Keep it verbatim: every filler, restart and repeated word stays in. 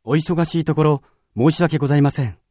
お忙しいところ申し訳ございません。